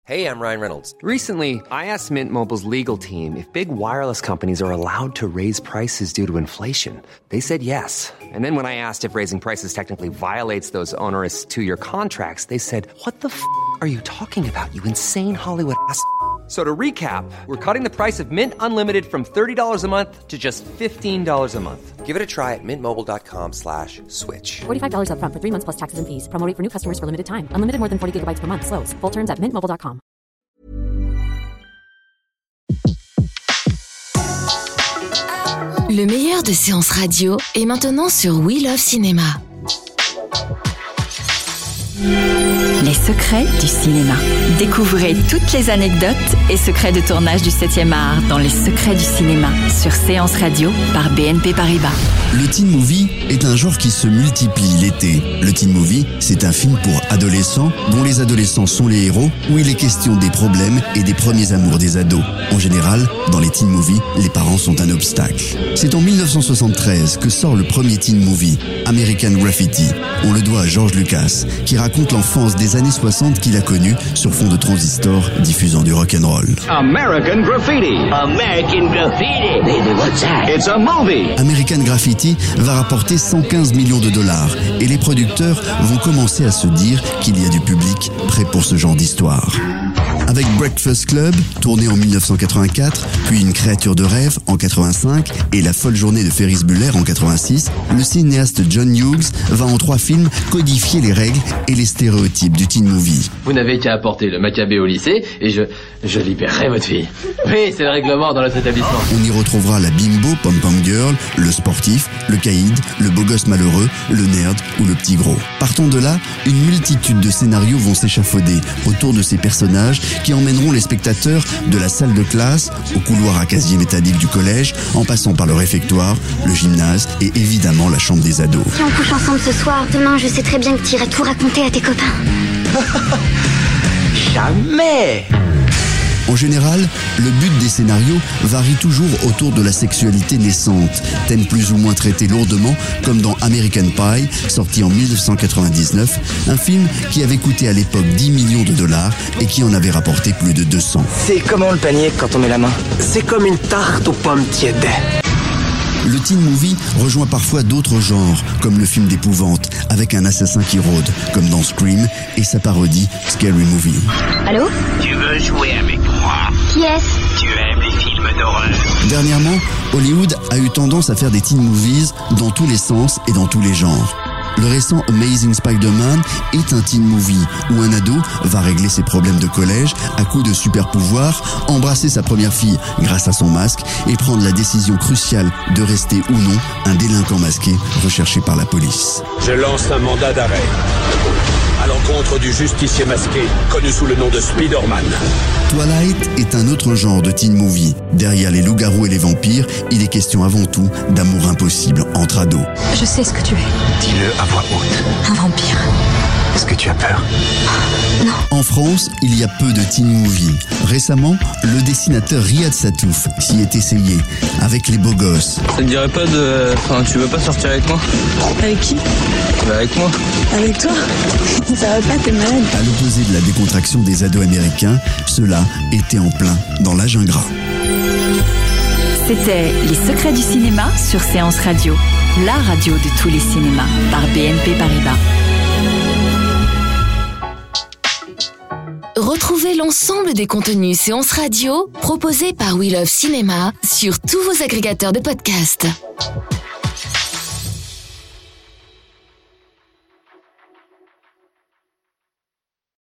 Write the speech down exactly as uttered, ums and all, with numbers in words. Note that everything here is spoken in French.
Hey, I'm Ryan Reynolds. Recently, I asked Mint Mobile's legal team if big wireless companies are allowed to raise prices due to inflation. They said yes. And then when I asked if raising prices technically violates those onerous two-year contracts, they said, what the f*** are you talking about, you insane Hollywood ass f- So to recap, we're cutting the price of Mint Unlimited from thirty dollars a month to just fifteen dollars a month. Give it a try at mintmobile.com slash switch. forty-five dollars up front for three months plus taxes and fees. Promo rate for new customers for limited time. Unlimited more than forty gigabytes per month. Slows full terms at mint mobile dot com. Le meilleur de séances radio est maintenant sur We Love Cinéma. Les secrets du cinéma. Découvrez toutes les anecdotes et secrets de tournage du septième art dans Les secrets du cinéma sur Séance Radio par B N P Paribas. Le teen movie est un genre qui se multiplie l'été. Le teen movie, c'est un film pour adolescents dont les adolescents sont les héros, où il est question des problèmes et des premiers amours des ados. En général, dans les teen movies, les parents sont un obstacle. C'est en dix-neuf cent soixante-treize que sort le premier teen movie, American Graffiti. On le doit à George Lucas, qui raconte l'enfance des années soixante qu'il a connue sur fond de transistors diffusant du rock'n'roll. American Graffiti. American Graffiti. Baby, what's that? It's a movie. American Graffiti va rapporter cent quinze millions de dollars et les producteurs vont commencer à se dire qu'il y a du public prêt pour ce genre d'histoire. Avec Breakfast Club, tourné en dix-neuf cent quatre-vingt-quatre, puis Une créature de rêve en quatre-vingt-cinq et La folle journée de Ferris Bueller en quatre-vingt-six, le cinéaste John Hughes va en trois films codifier les règles et les stéréotypes du teen movie. Vous n'avez qu'à apporter le macabé au lycée et je, je libérerai votre fille. Oui, c'est le règlement dans notre établissement. On y retrouvera la bimbo pom-pom girl, le sportif, le caïd, le beau gosse malheureux, le nerd ou le petit gros. Partant de là, une multitude de scénarios vont s'échafauder autour de ces personnages qui emmèneront les spectateurs de la salle de classe au couloir à casier métallique du collège, en passant par le réfectoire, le gymnase et évidemment la chambre des ados. Si on couche ensemble ce soir, demain je sais très bien que tu iras tout raconter à tes copains. Jamais. En général, le but des scénarios varie toujours autour de la sexualité naissante, thème plus ou moins traité lourdement, comme dans American Pie, sorti en dix-neuf cent quatre-vingt-dix-neuf, un film qui avait coûté à l'époque dix millions de dollars et qui en avait rapporté plus de deux cents. C'est comment le panier quand on met la main? C'est comme une tarte aux pommes tièdes. Le teen movie rejoint parfois d'autres genres, comme le film d'épouvante, avec un assassin qui rôde, comme dans Scream, et sa parodie Scary Movie. Allô? Tu veux jouer avec moi? Qui est-ce? Tu aimes les films d'horreur? Dernièrement, Hollywood a eu tendance à faire des teen movies dans tous les sens et dans tous les genres. Le récent Amazing Spider-Man est un teen movie où un ado va régler ses problèmes de collège à coups de super pouvoirs, embrasser sa première fille grâce à son masque et prendre la décision cruciale de rester ou non un délinquant masqué recherché par la police. Je lance un mandat d'arrêt à l'encontre du justicier masqué, connu sous le nom de Spider-Man. Twilight est un autre genre de teen movie. Derrière les loups-garous et les vampires, il est question avant tout d'amour impossible entre ados. Je sais ce que tu es. Dis-le à voix haute. Un vampire. Est-ce que tu as peur? Non. En France, il y a peu de teen movie. Récemment, le dessinateur Riyad Satouf s'y est essayé, avec Les Beaux Gosses. Ça te dirait pas de... Enfin, tu veux pas sortir avec moi? Avec qui? Bah avec moi. Avec toi? Ça va pas, t'es malade. À l'opposé de la décontraction des ados américains, ceux-là étaient en plein dans l'âge ingrat. C'était Les secrets du cinéma sur Séance Radio, la radio de tous les cinémas par B N P Paribas. Retrouvez l'ensemble des contenus séances radio proposés par We Love Cinéma sur tous vos agrégateurs de podcasts.